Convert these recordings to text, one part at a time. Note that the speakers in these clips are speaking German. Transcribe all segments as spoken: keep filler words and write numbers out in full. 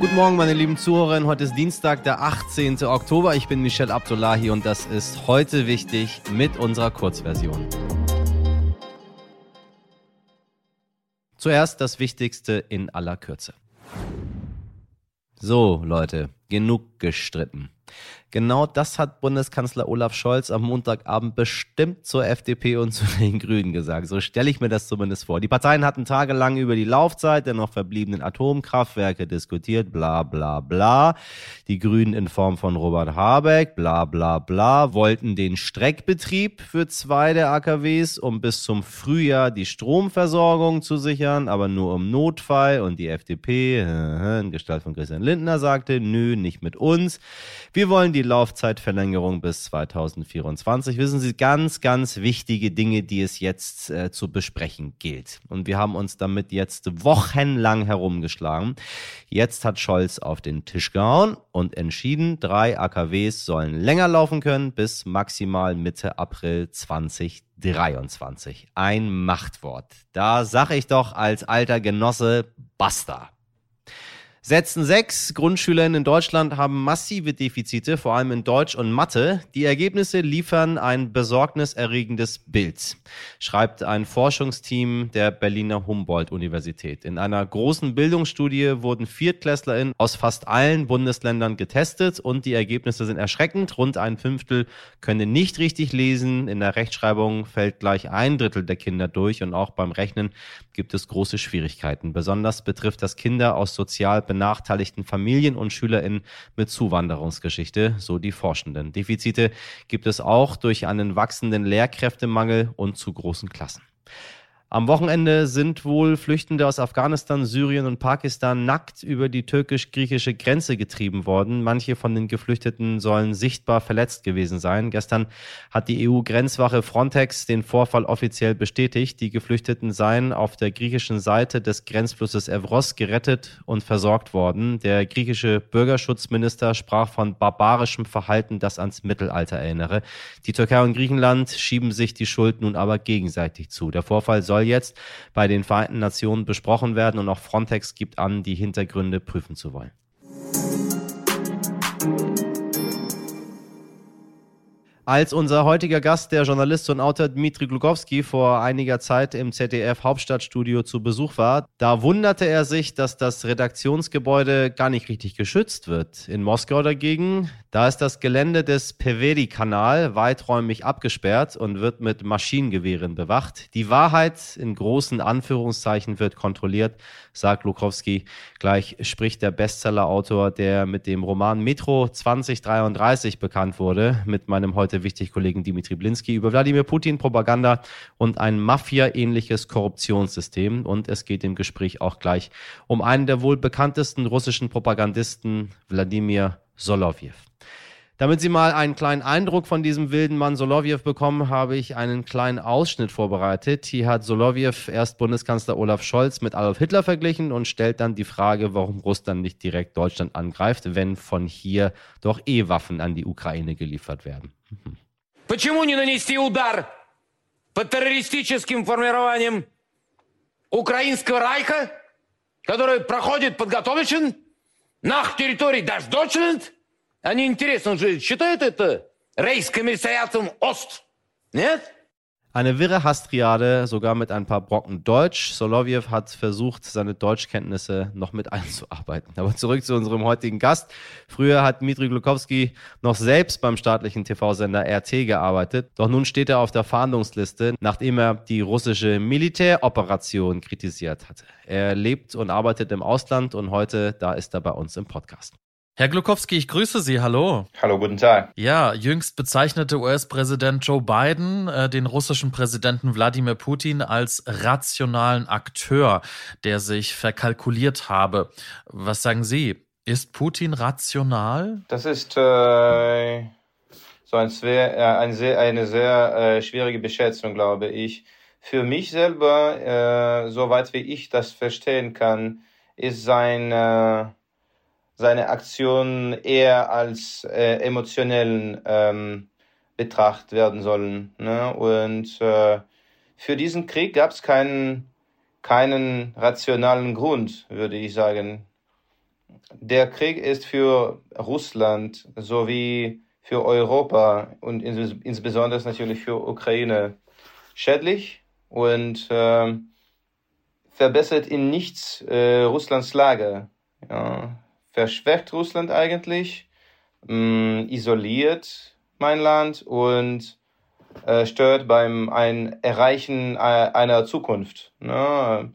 Guten Morgen, meine lieben Zuhörerinnen. Heute ist Dienstag, der achtzehnten Oktober. Ich bin Michel Abdullahi und das ist heute wichtig mit unserer Kurzversion. Zuerst das Wichtigste in aller Kürze. So, Leute, genug gestritten. Genau das hat Bundeskanzler Olaf Scholz am Montagabend bestimmt zur F D P und zu den Grünen gesagt. So stelle ich mir das zumindest vor. Die Parteien hatten tagelang über die Laufzeit der noch verbliebenen Atomkraftwerke diskutiert, bla bla bla. Die Grünen in Form von Robert Habeck, bla bla bla, wollten den Streckbetrieb für zwei der A K Ws, um bis zum Frühjahr die Stromversorgung zu sichern, aber nur im Notfall. Und die F D P, in Gestalt von Christian Lindner, sagte, nö, nicht mit uns. Wir wollen die Laufzeitverlängerung bis zweitausendvierundzwanzig. Wissen Sie, ganz, ganz wichtige Dinge, die es jetzt äh, zu besprechen gilt. Und wir haben uns damit jetzt wochenlang herumgeschlagen. Jetzt hat Scholz auf den Tisch gehauen und entschieden, drei A K Ws sollen länger laufen können bis maximal Mitte April zweitausenddreiundzwanzig. Ein Machtwort. Da sage ich doch als alter Genosse, basta. Sätzen sechs Grundschülerinnen in Deutschland haben massive Defizite, vor allem in Deutsch und Mathe. Die Ergebnisse liefern ein besorgniserregendes Bild, schreibt ein Forschungsteam der Berliner Humboldt-Universität. In einer großen Bildungsstudie wurden ViertklässlerInnen aus fast allen Bundesländern getestet und die Ergebnisse sind erschreckend. Rund ein Fünftel können nicht richtig lesen. In der Rechtschreibung fällt gleich ein Drittel der Kinder durch und auch beim Rechnen gibt es große Schwierigkeiten. Besonders betrifft das Kinder aus sozial benachteiligten Familien und SchülerInnen mit Zuwanderungsgeschichte, so die Forschenden. Defizite gibt es auch durch einen wachsenden Lehrkräftemangel und zu großen Klassen. Am Wochenende sind wohl Flüchtende aus Afghanistan, Syrien und Pakistan nackt über die türkisch-griechische Grenze getrieben worden. Manche von den Geflüchteten sollen sichtbar verletzt gewesen sein. Gestern hat die E U-Grenzwache Frontex den Vorfall offiziell bestätigt. Die Geflüchteten seien auf der griechischen Seite des Grenzflusses Evros gerettet und versorgt worden. Der griechische Bürgerschutzminister sprach von barbarischem Verhalten, das ans Mittelalter erinnere. Die Türkei und Griechenland schieben sich die Schuld nun aber gegenseitig zu. Der Vorfall soll jetzt bei den Vereinten Nationen besprochen werden und auch Frontex gibt an, die Hintergründe prüfen zu wollen. Als unser heutiger Gast, der Journalist und Autor Dmitri Glukowski, vor einiger Zeit im Z D F-Hauptstadtstudio zu Besuch war, da wunderte er sich, dass das Redaktionsgebäude gar nicht richtig geschützt wird. In Moskau dagegen, da ist das Gelände des Peweri-Kanal weiträumig abgesperrt und wird mit Maschinengewehren bewacht. Die Wahrheit in großen Anführungszeichen wird kontrolliert, sagt Glukowski. Gleich spricht der Bestseller-Autor, der mit dem Roman Metro zwanzig dreiunddreißig bekannt wurde, mit meinem heute wichtig Kollegen Dimitri Blinski über Wladimir Putin, Propaganda und ein Mafia-ähnliches Korruptionssystem. Und es geht im Gespräch auch gleich um einen der wohl bekanntesten russischen Propagandisten, Wladimir Solovjew. Damit Sie mal einen kleinen Eindruck von diesem wilden Mann Solovjew bekommen, habe ich einen kleinen Ausschnitt vorbereitet. Hier hat Solovjew erst Bundeskanzler Olaf Scholz mit Adolf Hitler verglichen und stellt dann die Frage, warum Russland nicht direkt Deutschland angreift, wenn von hier doch eh Waffen an die Ukraine geliefert werden. Mhm. Почему не нанести удар по террористическим формированиям Украинского Рейха, который проходит подготовлен nach территории даже Deutschland? Они интересно, он же считает это Reichskommissariatum Ost, нет? Eine wirre Hastriade, sogar mit ein paar Brocken Deutsch. Solovjew hat versucht, seine Deutschkenntnisse noch mit einzuarbeiten. Aber zurück zu unserem heutigen Gast. Früher hat Dmitri Glukowski noch selbst beim staatlichen T V-Sender R T gearbeitet. Doch nun steht er auf der Fahndungsliste, nachdem er die russische Militäroperation kritisiert hatte. Er lebt und arbeitet im Ausland und heute, da ist er bei uns im Podcast. Herr Glukowski, ich grüße Sie. Hallo. Hallo, guten Tag. Ja, jüngst bezeichnete U S-Präsident Joe Biden äh, den russischen Präsidenten Wladimir Putin als rationalen Akteur, der sich verkalkuliert habe. Was sagen Sie? Ist Putin rational? Das ist äh, so ein schwer, äh, ein sehr, eine sehr äh, schwierige Beschätzung, glaube ich. Für mich selber, äh, soweit wie ich das verstehen kann, ist sein äh, seine Aktionen eher als äh, emotionellen ähm, betrachtet werden sollen. Ne? Und äh, für diesen Krieg gab es keinen, keinen rationalen Grund, würde ich sagen. der Krieg ist für Russland sowie für Europa und ins, insbesondere natürlich für Ukraine schädlich und äh, verbessert in nichts äh, Russlands Lage. Ja, verschwächt Russland eigentlich, mh, isoliert mein Land und äh, stört beim ein Erreichen äh, einer Zukunft. Ne?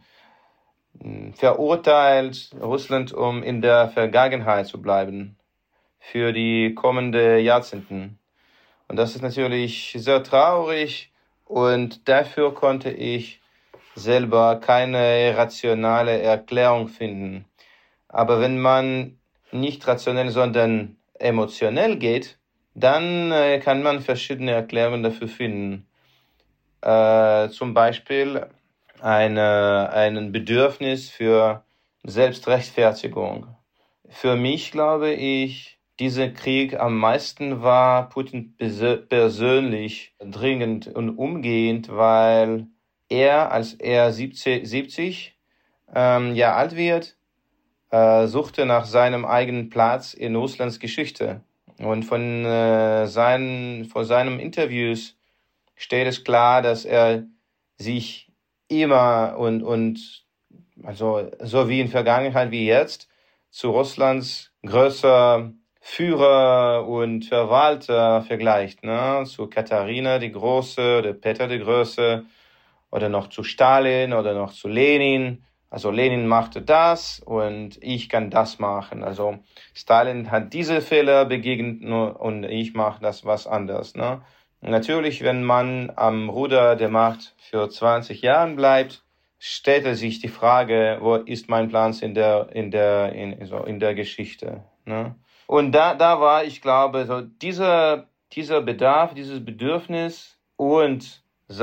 Verurteilt Russland, um in der Vergangenheit zu bleiben für die kommenden Jahrzehnte. Und das ist natürlich sehr traurig und dafür konnte ich selber keine rationale Erklärung finden. Aber wenn man nicht rationell, sondern emotionell geht, dann äh, kann man verschiedene Erklärungen dafür finden. Äh, zum Beispiel eine, ein Bedürfnis für Selbstrechtfertigung. Für mich, glaube ich, dieser Krieg am meisten war Putin persönlich dringend und umgehend, weil er, als er siebzig ähm, Jahre alt wird, äh, suchte nach seinem eigenen Platz in Russlands Geschichte. Und von, äh, seinen, von seinen Interviews steht es klar, dass er sich immer und, und also so wie in Vergangenheit wie jetzt zu Russlands größer Führer und Verwalter vergleicht, ne? Zu Katharina die Große oder Peter der Große oder noch zu Stalin oder noch zu Lenin. Also Lenin machte das und ich kann das machen. Also Stalin hat diese Fehler begegnet und ich mache das was anderes, ne? Natürlich, wenn man am Ruder der Macht für zwanzig Jahre bleibt, stellt sich die Frage, wo ist mein Platz in der in der in, so in der Geschichte, ne? Und da da war, ich glaube, so dieser dieser Bedarf, dieses Bedürfnis und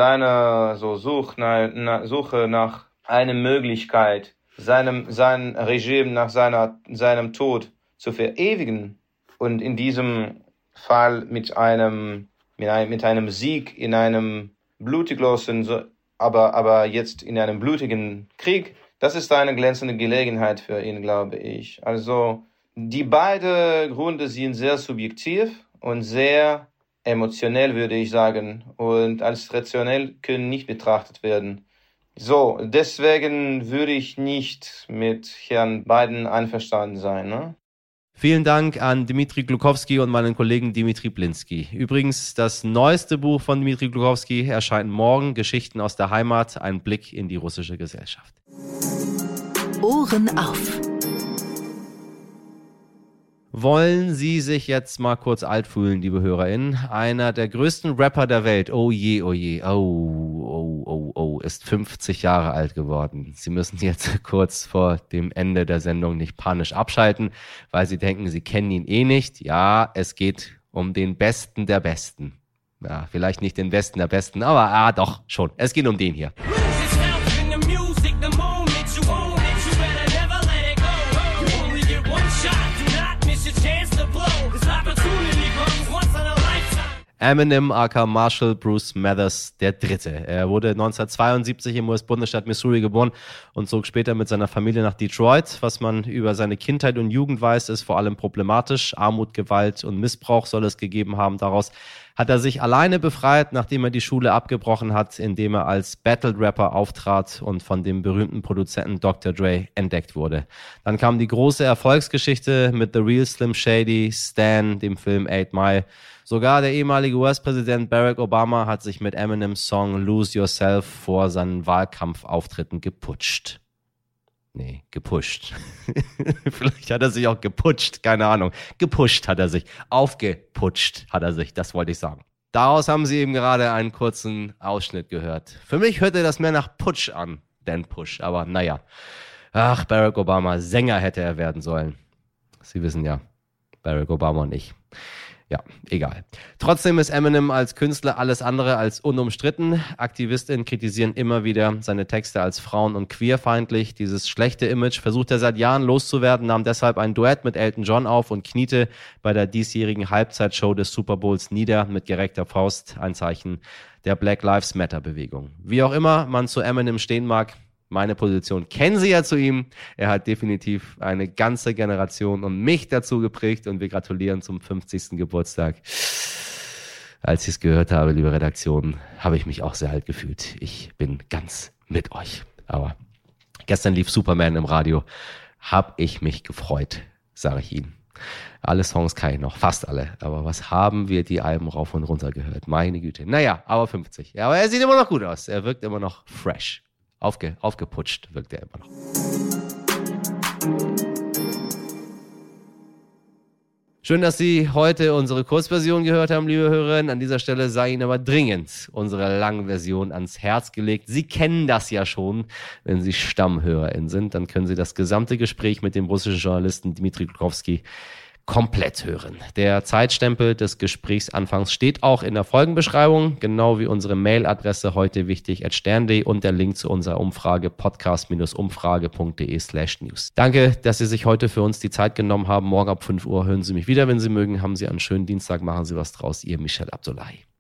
seine so Such, na, na, Suche nach einer Möglichkeit, seinem sein Regime nach seiner seinem Tod zu verewigen und in diesem Fall mit einem mit einem, mit einem Sieg in einem blutiglosen, aber, aber jetzt in einem blutigen Krieg, das ist eine glänzende Gelegenheit für ihn, glaube ich. Also, die beiden Gründe sind sehr subjektiv und sehr emotionell, würde ich sagen, und als rationell können nicht betrachtet werden. So, deswegen würde ich nicht mit Herrn Biden einverstanden sein, ne? Vielen Dank an Dmitri Glukowski und meinen Kollegen Dimitri Blinski. Übrigens, das neueste Buch von Dmitri Glukowski erscheint morgen, Geschichten aus der Heimat, ein Blick in die russische Gesellschaft. Ohren auf. Wollen Sie sich jetzt mal kurz alt fühlen, liebe HörerInnen? Einer der größten Rapper der Welt, oh je, oh je, oh, oh, oh, oh, ist fünfzig Jahre alt geworden. Sie müssen jetzt kurz vor dem Ende der Sendung nicht panisch abschalten, weil Sie denken, Sie kennen ihn eh nicht. Ja, es geht um den Besten der Besten. Ja, vielleicht nicht den Besten der Besten, aber ah, doch, schon. Es geht um den hier. Eminem aka Marshall Bruce Mathers der Dritte. Er wurde neunzehnhundertzweiundsiebzig im U S-Bundesstaat Missouri geboren und zog später mit seiner Familie nach Detroit. Was man über seine Kindheit und Jugend weiß, ist vor allem problematisch. Armut, Gewalt und Missbrauch soll es gegeben haben. Daraus hat er sich alleine befreit, nachdem er die Schule abgebrochen hat, indem er als Battle-Rapper auftrat und von dem berühmten Produzenten Doktor Dre entdeckt wurde. Dann kam die große Erfolgsgeschichte mit The Real Slim Shady, Stan, dem Film Eight Mile. Sogar der ehemalige U S-Präsident Barack Obama hat sich mit Eminems Song Lose Yourself vor seinen Wahlkampfauftritten geputscht. Nee, gepusht. Vielleicht hat er sich auch geputscht, keine Ahnung. Gepusht hat er sich. Aufgeputscht hat er sich, das wollte ich sagen. Daraus haben Sie eben gerade einen kurzen Ausschnitt gehört. Für mich hörte das mehr nach Putsch an, denn Push. Aber naja. Ach, Barack Obama, Sänger hätte er werden sollen. Sie wissen ja, Barack Obama und ich. Ja, egal. Trotzdem ist Eminem als Künstler alles andere als unumstritten. AktivistInnen kritisieren immer wieder seine Texte als frauen- und queerfeindlich. Dieses schlechte Image versucht er seit Jahren loszuwerden, nahm deshalb ein Duett mit Elton John auf und kniete bei der diesjährigen Halbzeitshow des Super Bowls nieder mit gereckter Faust, ein Zeichen der Black Lives Matter Bewegung. Wie auch immer man zu Eminem stehen mag, Meine Position kennen Sie ja zu ihm. Er hat definitiv eine ganze Generation und mich dazu geprägt und wir gratulieren zum fünfzigsten Geburtstag. Als ich es gehört habe, liebe Redaktion, habe ich mich auch sehr alt gefühlt. Ich bin ganz mit euch. Aber gestern lief Superman im Radio. Hab ich mich gefreut, sage ich Ihnen. Alle Songs kann ich noch, fast alle. Aber was haben wir die Alben rauf und runter gehört? Meine Güte. Naja, aber fünfzig. Ja, aber er sieht immer noch gut aus. Er wirkt immer noch fresh. Aufge, aufgeputscht wirkt er immer noch. Schön, dass Sie heute unsere Kurzversion gehört haben, liebe Hörerinnen. An dieser Stelle sei Ihnen aber dringend unsere Langversion ans Herz gelegt. Sie kennen das ja schon, wenn Sie StammhörerInnen sind. Dann können Sie das gesamte Gespräch mit dem russischen Journalisten Dmitri Gluchowski komplett hören. Der Zeitstempel des Gesprächsanfangs steht auch in der Folgenbeschreibung, genau wie unsere Mailadresse heute wichtig at stern punkt de und der Link zu unserer Umfrage podcast-umfrage.de slash news. Danke, dass Sie sich heute für uns die Zeit genommen haben. Morgen ab fünf Uhr hören Sie mich wieder, wenn Sie mögen. Haben Sie einen schönen Dienstag, machen Sie was draus. Ihr Michel Abdullahi.